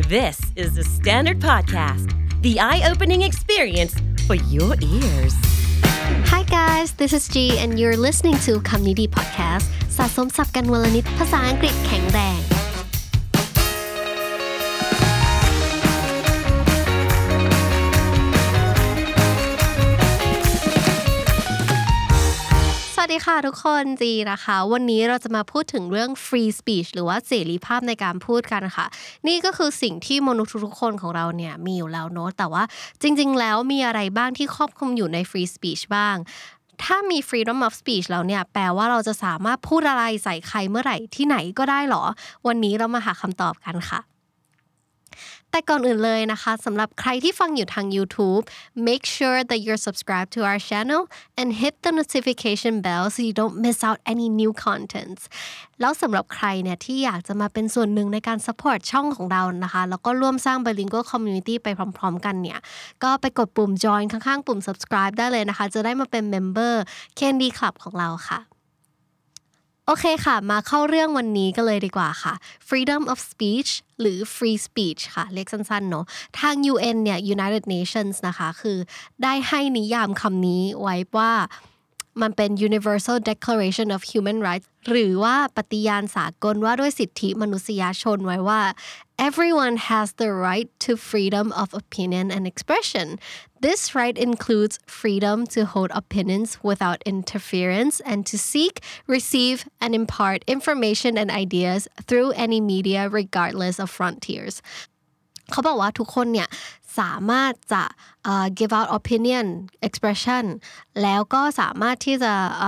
This is the Standard Podcast, the eye-opening experience for your ears. Hi guys, this is G and you're listening to Community Podcast สะสมศัพท์กันวลนิดภาษาอังกฤษแข็งแรงสวัสดีค่ะทุกคนจีนะคะวันนี้เราจะมาพูดถึงเรื่อง free speech หรือว่าเสรีภาพในการพูดกันค่ะนี่ก็คือสิ่งที่มนุษย์ทุกคนของเราเนี่ยมีอยู่แล้วเนอะแต่ว่าจริงๆแล้วมีอะไรบ้างที่ครอบคลุมอยู่ใน free speech บ้างถ้ามี freedom of speech แล้วเนี่ยแปลว่าเราจะสามารถพูดอะไรใส่ใครเมื่อไหร่ที่ไหนก็ได้หรอวันนี้เรามาหาคำตอบกันค่ะแต่ก่อนอื่นเลยนะคะสำหรับใครที่ฟังอยู่ทาง YouTube make sure that you're subscribed to our channel and hit the notification bell so you don't miss out any new contents แล้วสำหรับใครเนี่ยที่อยากจะมาเป็นส่วนหนึ่งในการ support ช่องของเรานะคะแล้วก็ร่วมสร้าง bilingual community ไปพร้อมๆกันเนี่ยก็ไปกดปุ่ม join ข้างๆปุ่ม subscribe ได้เลยนะคะจะได้มาเป็น member Candy Club ของเราค่ะโอเคค่ะมาเข้าเรื่องวันนี้กันเลยดีกว่าค่ะ freedom of speech หรือ free speech ค่ะเรียกสั้นๆเนาะทาง UN เนี่ย United Nations นะคะคือได้ให้นิยามคำนี้ไว้ว่ามันเป็น Universal Declaration of Human Rights หรือว่าปฏิญาณสากลว่าด้วยสิทธิมนุษยชนไว้ว่า Everyone has the right to freedom of opinion and expression. This right includes freedom to hold opinions without interference and to seek, receive, and impart information and ideas through any media regardless of frontiers. เขาบอกว่าทุกคนเนี่ยสามารถจะ give out opinion expression แล้วก็สามารถที่จะ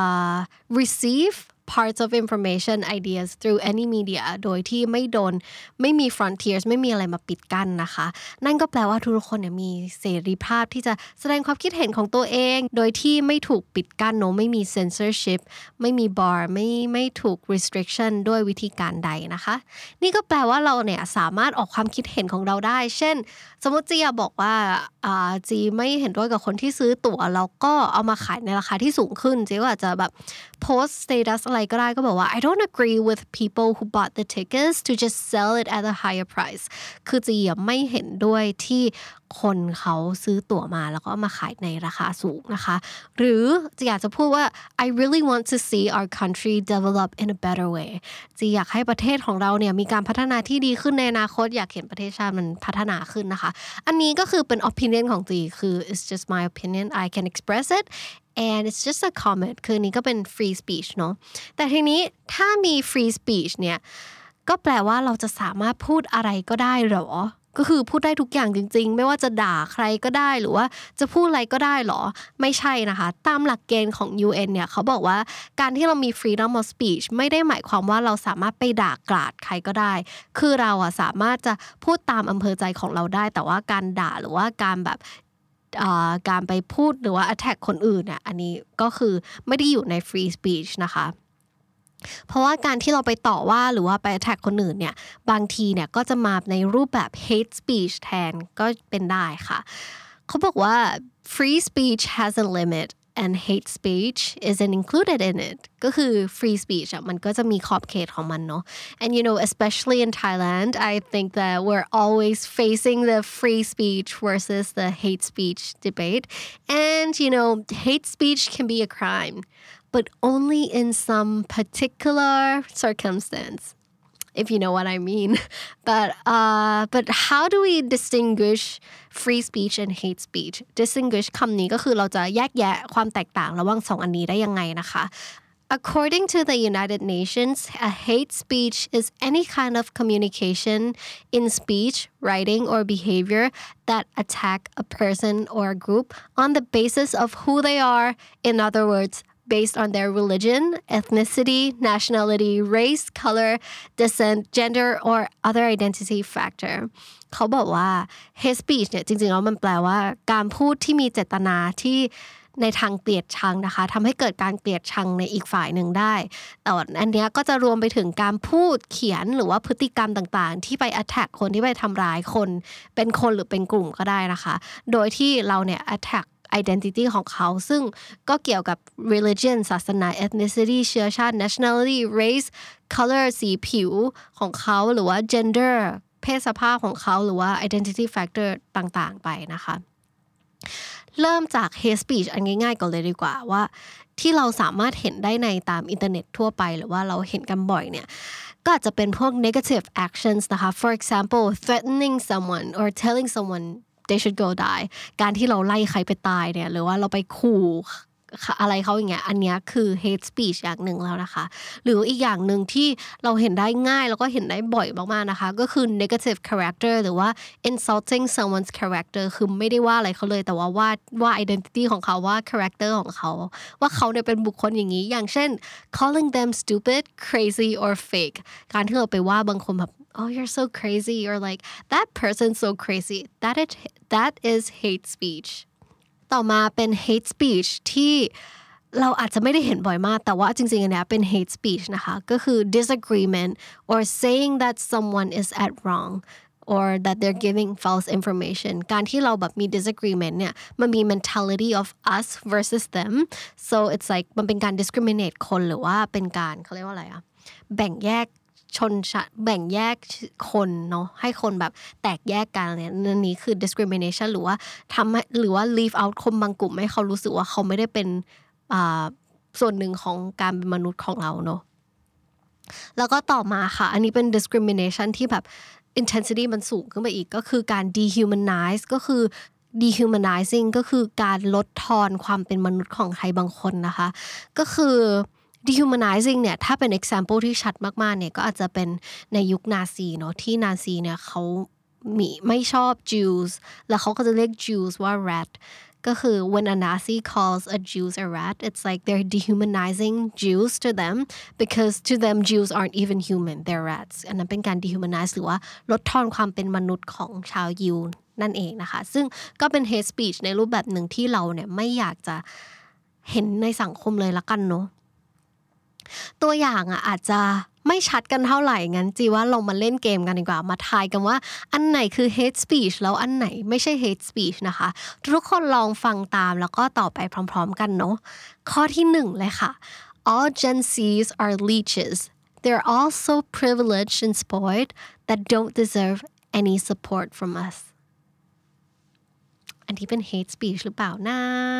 receive parts of information ideas through any media โดยที่ไม่มี frontiers ไม่มีอะไรมาปิดกั้นนะคะนั่นก็แปลว่าทุกคนเนี่ยมีเสรีภาพที่จะแสดงความคิดเห็นของตัวเองโดยที่ไม่ถูกปิดกั้นเนอะไม่มี censorship ไม่มี bar ไม่ถูก restriction ด้วยวิธีการใดนะคะนี่ก็แปลว่าเราเนี่ยสามารถออกความคิดเห็นของเราได้เช่นสมมติจีบอกว่าจีไม่เห็นด้วยกับคนที่ซื้อตั๋วแล้วก็เอามาขายในราคาที่สูงขึ้นจีก็อาจจะแบบ post status อะไรก็ได้ก็บอกว่า I don't agree with people who bought the tickets to just sell it at a higher price คือจีไม่เห็นด้วยที่คนเขาซื้อตั๋วมาแล้วก็มาขายในราคาสูงนะคะหรือจีอยากจะพูดว่า I really want to see our country develop in a better way จีอยากให้ประเทศของเราเนี่ยมีการพัฒนาที่ดีขึ้นในอนาคตอยากเห็นประเทศชาติมันพัฒนาขึ้นนะคะอันนี้ก็คือเป็น opinion ของจีคือ it's just my opinion I can express it and it's just a comment คือนี้ก็เป็น free speech เนาะแต่ทีนี้ถ้ามี free speech เนี่ยก็แปลว่าเราจะสามารถพูดอะไรก็ได้หรอก็คือพูดได้ทุกอย่างจริงๆไม่ว่าจะด่าใครก็ได้หรือว่าจะพูดอะไรก็ได้หรอไม่ใช่นะคะตามหลักเกณฑ์ของ UN เนี่ยเขาบอกว่าการที่เรามี freedom of speech ไม่ได้หมายความว่าเราสามารถไปด่ากราดใครก็ได้คือเราสามารถจะพูดตามอำเภอใจของเราได้แต่ว่าการด่าหรือว่าการแบบการไปพูดหรือว่า attack คนอื่นเนี่ยอันนี้ก็คือไม่ได้อยู่ใน free speech นะคะเพราะว่าการที่เราไปต่อว่าหรือว่าไป attack คนอื่นเนี่ยบางทีเนี่ยก็จะมาในรูปแบบ hate speech แทนก็เป็นได้ค่ะเขาบอกว่า free speech has a limit and hate speech isn't included in it ก็คือ free speech มันก็จะมีขอบเขตของมันเนาะ and you know especially in Thailand I think that we're always facing the free speech versus the hate speech debate and you know hate speech can be a crime but only in some particular circumstance if you know what I mean but how do we distinguish free speech and hate speech distinguish คำนี้ก็คือเราจะแยกแยะความแตกต่างระหว่างสองอันนี้ได้ยังไงนะคะ According to the United Nations, a hate speech is any kind of communication in speech, writing, or behavior that attack a person or a group on the basis of who they are. In other words, based on their religion, ethnicity, nationality, race, color, descent, gender, or other identity factor. เขาบอกว่า hate speech เนี่ยจริงๆแล้วมันแปลว่าการพูดที่มีเจตนาที่ในทางเกลียดชังนะคะทำให้เกิดการเกลียดชังในอีกฝ่ายหนึ่งได้แต่อันนี้ก็จะรวมไปถึงการพูดเขียนหรือว่าพฤติกรรมต่างๆที่ไป attack คนที่ไปทำร้ายคนเป็นคนหรือเป็นกลุ่มก็ได้นะคะโดยที่เราเนี่ย attack identity ของเขาซึ่งก็เกี่ยวกับ religion ศาสนา ethnicity เชื้อชาติ nationality race color สีผิวของเขาหรือว่า gender เพศสภาพของเขาหรือว่า identity factor ต่างๆไปนะคะเริ่มจาก hate speech อันง่ายๆก่อนเลยดีกว่าว่าที่เราสามารถเห็นได้ในตามอินเทอร์เน็ตทั่วไปหรือว่าเราเห็นกันบ่อยเนี่ยก็อาจจะเป็นพวก negative actions นะคะ for example threatening someone or telling someone they should go die การที่เราไล่ใครไปตายเนี่ยหรือว่าเราไปขู่อะไรเขาอย่างเงี้ยอันเนี้ยคือ hate speech อย่างหนึ่งแล้วนะคะหรืออีกอย่างหนึ่งที่เราเห็นได้ง่ายแล้วก็เห็นได้บ่อยมากๆนะคะก็คือ negative character หรือว่า insulting someone's character คือไม่ได้ว่าอะไรเขาเลยแต่ว่า identity ของเขาว่า character ของเขาว่าเขาเนี่ยเป็นบุคคลอย่างนี้อย่างเช่น calling them stupid crazy or fake การที่เราไปว่าบางคนแบบ oh you're so crazy or like that person's so crazy that is hate speechต่อมาเป็น hate speech ที่เราอาจจะไม่ได้เห็นบ่อยมากแต่ว่าจริงๆอันเนี้ยเป็น hate speech นะคะก็คือ disagreement or saying that someone is at wrong or that they're giving false information การที่เราแบบมี disagreement เนี่ยมันมี mentality of us versus them so it's like มันเป็นการ discriminate คนหรือว่าเป็นการเขาเรียกว่าอะไรอะแบ่งแยกชนชั้นแบ่งแยกคนเนาะให้คนแบบแตกแยกกันเนี่ยนั่นนี้คือ discrimination หรือว่าทำให้หรือว่า leave out คนบางกลุ่มให้เขารู้สึกว่าเขาไม่ได้เป็นส่วนหนึ่งของการเป็นมนุษย์ของเราเนาะแล้วก็ต่อมาค่ะอันนี้เป็น discrimination ที่แบบ intensity มันสูงขึ้นไปอีกก็คือการ dehumanize ก็คือ dehumanizing ก็คือการลดทอนความเป็นมนุษย์ของใครบางคนนะคะก็คือ dehumanizing เนี่ยถ้าเป็น example ที่ชัดมากๆเนี่ยก็อาจจะเป็นในยุคนาซีเนาะที่นาซีเนี่ยเขาไม่ชอบ Jews แล้วเขาก็จะเรียก Jews ว่า rat ก็คือ when a Nazi calls a Jews a rat it's like they're dehumanizing Jews to them because to them Jews aren't even human they're rats อันนั้นเป็นการ dehumanize หรือว่าลดทอนความเป็นมนุษย์ของชาวยิวนั่นเองนะคะซึ่งก็เป็น hate speech ในรูปแบบหนึ่งที่เราเนี่ยไม่อยากจะเห็นในสังคมเลยละกันเนาะตัวอย่างอาจจะไม่ชัดกันเท่าไหร่งั้นจีว่าเรามาเล่นเกมกันดีกว่ามาทายกันว่าอันไหนคือ hate speech แล้วอันไหนไม่ใช่ hate speech นะคะทุกคนลองฟังตามแล้วก็ต่อไปพร้อมๆกันเนาะข้อที่1เลยค่ะ all Gen Zs are leeches they're all so privileged and spoiled that don't deserve any support from us อันที่เป็น hate speech หรือเปล่านะ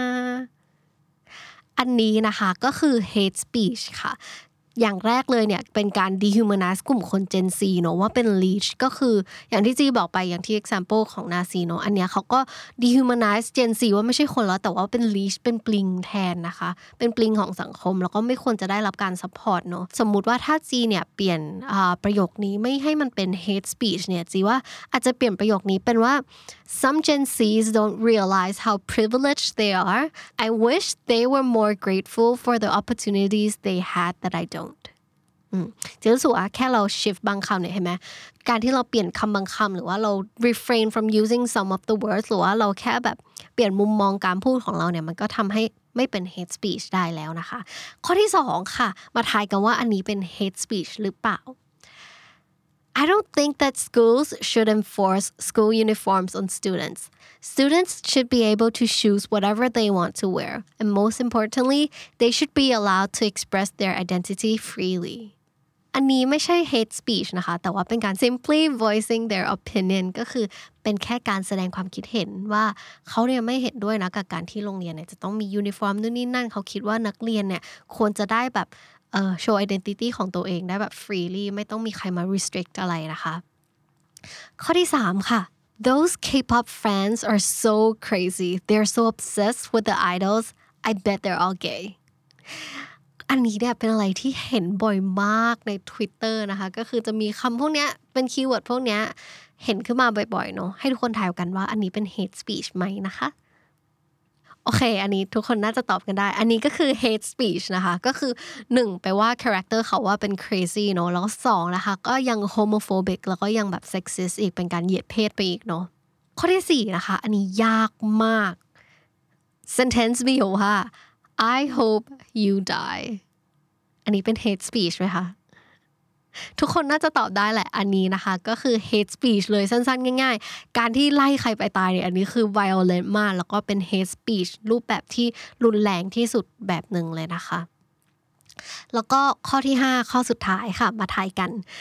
อันนี้นะคะก็คือ hate speech ค่ะอย่างแรกเลยเนี่ยเป็นการ dehumanize กลุ่มคน Gen Z เนอะว่าเป็น leech ก็คืออย่างที่จีบอกไปอย่างที่ example ของนาซีเนอะอันเนี้ยเขาก็ dehumanize Gen Z ว่าไม่ใช่คนแล้วแต่ว่าเป็น leech เป็นปลิงแทนนะคะเป็นปลิงของสังคมแล้วก็ไม่ควรจะได้รับการ support เนอะสมมุติว่าถ้าจีเนี่ยเปลี่ยนประโยคนี้ไม่ให้มันเป็น hate speech เนี่ยจีว่าอาจจะเปลี่ยนประโยคนี้เป็นว่า some Gen Zs don't realize how privileged they are I wish they were more grateful for the opportunities they had that I don'tจะรู้สึกว่าแค่เรา shift บางคำเนี่ยเห็นไหมการที่เราเปลี่ยนคำบางคำหรือว่าเรา refrain from using some of the words หรือว่าเราแค่แบบเปลี่ยนมุมมองการพูดของเราเนี่ยมันก็ทำให้ไม่เป็น hate speech ได้แล้วนะคะข้อที่2ค่ะมาทายกันว่าอันนี้เป็น hate speech หรือเปล่าI don't think that schools should enforce school uniforms on students. Students should be able to choose whatever they want to wear. And most importantly, they should be allowed to express their identity freely. อันนี้ไม่ใช่ hate speech นะคะแต่ว่าเป็นการ simply voicing their opinion ก็คือเป็นแค่การแสดงความคิดเห็นว่าเขาเนี่ยไม่เห็นด้วยนะกับการที่โรงเรียนเนี่ยจะต้องมียูนิฟอร์มนู่นนี่นั่นเขาคิดว่านักเรียนเนี่ยควรจะได้แบบshow identity ของตัวเองได้แบบ freely ไม่ต้องมีใครมา restrict อะไรนะคะข้อที่3ค่ะ Those K-pop fans are so crazy they're so obsessed with the idols I bet they're all gay อันนี้เนี่ยเป็นอะไรที่เห็นบ่อยมากใน Twitter นะคะก็คือจะมีคำพวกเนี้ยเป็นคีย์เวิร์ดพวกเนี้ยเห็นขึ้นมาบ่อยๆเนาะให้ทุกคนทายกันว่าอันนี้เป็น hate speech ไหมนะคะโอเคอันนี้ทุกคนน่าจะตอบกันได้อันนี้ก็คือ hate speech นะคะก็คือ1แปลว่า character เขาว่าเป็น crazy เนาะแล้วก็2นะคะก็ยัง homophobic แล้วก็ยังแบบ sexist อีกเป็นการเหยียดเพศไปอีกเนาะข้อที่4นะคะอันนี้ยากมาก sentence มีอยู่ว่า I hope you die อันนี้เป็น hate speech ไหมคะทุกคนน่าจะตอบได้แหละอันนี้นะคะก็คือ hate speech เลยสั้นๆง่ายๆการที่ไล่ใครไปตายเนี่ยอันนี้คือ violent มากแล้วก็เป็น hate speech รูปแบบที่รุนแรงที่สุดแบบหนึ่งเลยนะคะแล้วก็ข้อที่5ข้อสุดท้ายค่ะมาทายกัน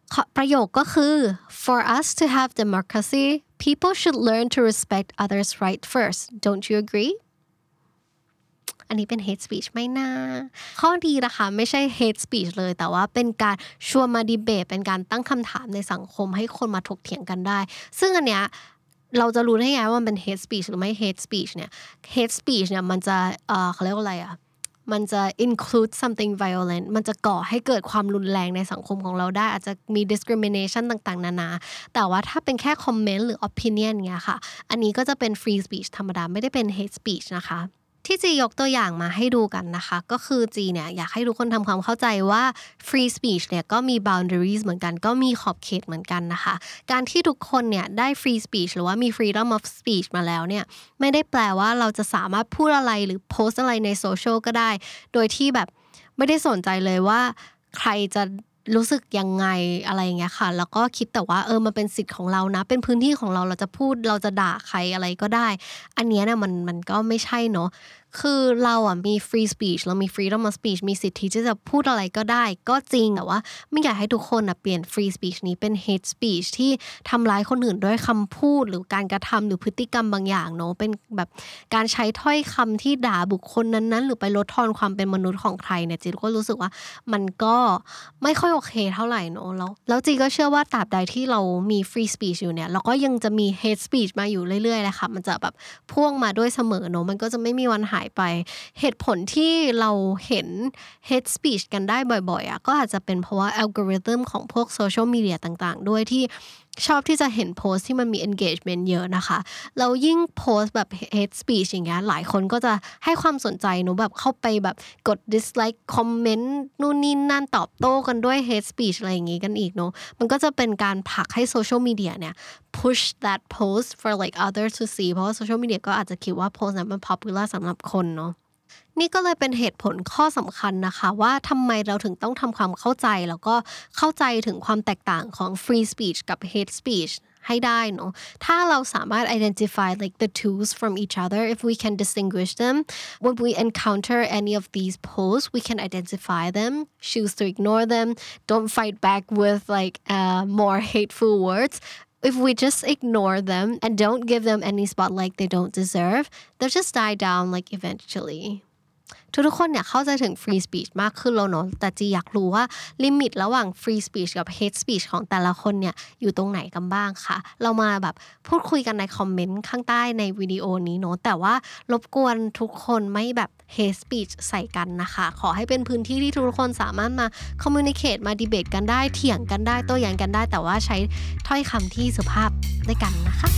ประโยคก็คือ For us to have democracy people should learn to respect others' right first don't you agreeอันนี้เป็น hate speech ไม่น่าข้อดีนะคะไม่ใช่ hate speech เลยแต่ว่าเป็นการชวนมาดีเบตเป็นการตั้งคำถามในสังคมให้คนมาถกเถียงกันได้ซึ่งอันเนี้ยเราจะรู้ได้ไงว่ามันเป็น hate speech หรือไม่ hate speech เนี่ย hate speech เนี่ยมันจะเขาเรียกว่าอะไรอ่ะมันจะ include something violent มันจะก่อให้เกิดความรุนแรงในสังคมของเราได้อาจจะมี discrimination ต่างๆนานาแต่ว่าถ้าเป็นแค่ comment หรือ opinion เงี้ยค่ะอันนี้ก็จะเป็น free speech ธรรมดาไม่ได้เป็น hate speech นะคะที่จียกตัวอย่างมาให้ดูกันนะคะก็คือจีเนี่ยอยากให้ทุกคนทำความเข้าใจว่า free speech เนี่ยก็มี boundaries เหมือนกันก็มีขอบเขตเหมือนกันนะคะการที่ทุกคนเนี่ยได้ free speech หรือว่ามี freedom of speech มาแล้วเนี่ยไม่ได้แปลว่าเราจะสามารถพูดอะไรหรือโพสอะไรในโซเชียลก็ได้โดยที่แบบไม่ได้สนใจเลยว่าใครจะรู้สึกยังไงอะไรอย่างเงี้ยค่ะแล้วก็คิดแต่ว่ามันเป็นสิทธิ์ของเรานะเป็นพื้นที่ของเราจะพูดเราจะด่าใครอะไรก็ได้อันเนี้ยเนี่ยมันก็ไม่ใช่เนาะคือเรามี free speech เรามี freedom of speech มีสิทธิที่จะพูดอะไรก็ได้ก็จริงแต่ว่าไม่อยากให้ทุกคนเปลี่ยน free speech นี้เป็น hate speech ที่ทำร้ายคนอื่นด้วยคำพูดหรือการกระทำหรือพฤติกรรมบางอย่างเนาะเป็นแบบการใช้ถ้อยคำที่ด่าบุคคลนั้นๆหรือไปลดทอนความเป็นมนุษย์ของใครเนี่ยจีก็รู้สึกว่ามันก็ไม่ค่อยโอเคเท่าไหร่เนาะแล้วจีก็เชื่อว่าตราบใดที่เรามี free speech อยู่เนี่ยเราก็ยังจะมี hate speech มาอยู่เรื่อยๆแหละค่ะมันจะแบบพ่วงมาด้วยเสมอเนาะมันก็จะไม่มีวันหายไปเหตุผลที่เราเห็น hate speech กันได้บ่อยๆก็อาจจะเป็นเพราะว่าอัลกอริทึมของพวกโซเชียลมีเดียต่างๆด้วยที่ชอบที่จะเห็นโพสต์ที่มันมี engagement เยอะนะคะแล้วยิ่งโพสต์แบบ hate speech อย่างเงี้ยหลายคนก็จะให้ความสนใจเนอะแบบเข้าไปแบบกด dislike comment นู่นนี่นั่นตอบโต้กันด้วย hate speech อะไรอย่างงี้กันอีกเนอะมันก็จะเป็นการผลักให้โซเชียลมีเดียเนี่ย push that post for like others to see เพราะว่าโซเชียลมีเดียก็อาจจะคิดว่าโพสต์นั้นมัน popular สำหรับคนเนาะนี่ก็เลยเป็นเหตุผลข้อสำคัญนะคะว่าทำไมเราถึงต้องทำความเข้าใจแล้วก็เข้าใจถึงความแตกต่างของ free speech กับ hate speech ให้ได้เนาะถ้าเราสามารถ identify like the tools from each other if we can distinguish them when we encounter any of these posts we can identify them choose to ignore them don't fight back with like more hateful words if we just ignore them and don't give them any spotlight they don't deserve they'll just die down like eventuallyทุกคนเนี่ยเข้าใจถึง free speech มากขึ้นแล้วเนาะแต่จีอยากรู้ว่าลิมิตระหว่าง free speech กับ hate speech ของแต่ละคนเนี่ยอยู่ตรงไหนกันบ้างค่ะเรามาแบบพูดคุยกันในคอมเมนต์ข้างใต้ในวิดีโอนี้เนาะแต่ว่ารบกวนทุกคนไม่แบบ hate speech ใส่กันนะคะขอให้เป็นพื้นที่ที่ทุกคนสามารถมา communicate มา debate กันได้เถียงกันได้โต้แย้งกันได้แต่ว่าใช้ถ้อยคำที่สุภาพด้วยกันนะคะ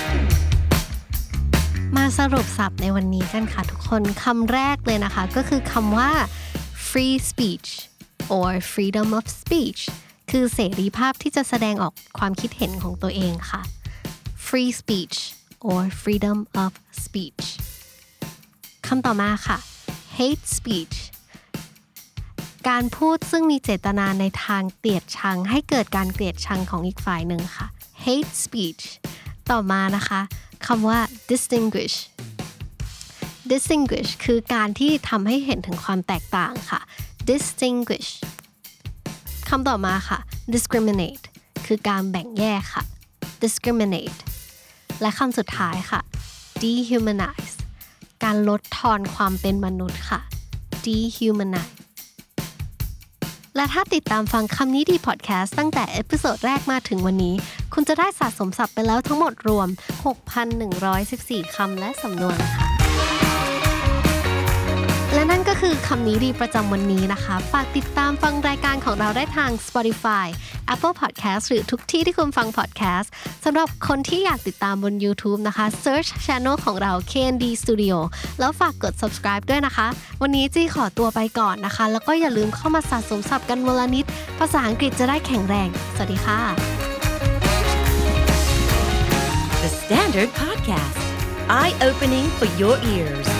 มาสรุปศัพท์ในวันนี้กันค่ะทุกคนคำแรกเลยนะคะก็คือคำว่า free speech or freedom of speech คือเสรีภาพที่จะแสดงออกความคิดเห็นของตัวเองค่ะ free speech or freedom of speech คำต่อมาค่ะ hate speech การพูดซึ่งมีเจตนาในทางเกลียดชังให้เกิดการเกลียดชังของอีกฝ่ายหนึ่งค่ะ hate speech ต่อมานะคะคำว่า distinguish คือการที่ทำให้เห็นถึงความแตกต่างค่ะ distinguish คำต่อมาค่ะ discriminate คือการแบ่งแยกค่ะ discriminate และคำสุดท้ายค่ะ dehumanize การลดทอนความเป็นมนุษย์ค่ะ dehumanize และถ้าติดตามฟังคำนี้ดีพอดแคสต์ตั้งแต่เอพิโซดแรกมาถึงวันนี้คุณจะได้สะสมศัพท์ไปแล้วทั้งหมดรวม 6,114 คำและสำนวนค่ะและนั่นก็คือคำนี้ดีประจำวันนี้นะคะฝากติดตามฟังรายการของเราได้ทาง Spotify Apple Podcast หรือทุกที่ที่คุณฟัง podcast สำหรับคนที่อยากติดตามบน YouTube นะคะ Search Channel ของเรา KND Studio แล้วฝากกด subscribe ด้วยนะคะวันนี้จี้ขอตัวไปก่อนนะคะแล้วก็อย่าลืมเข้ามาสะสมศัพท์กันวันละนิดภาษาอังกฤษจะได้แข็งแรงสวัสดีค่ะ The Standard Podcast Eye-opening for your ears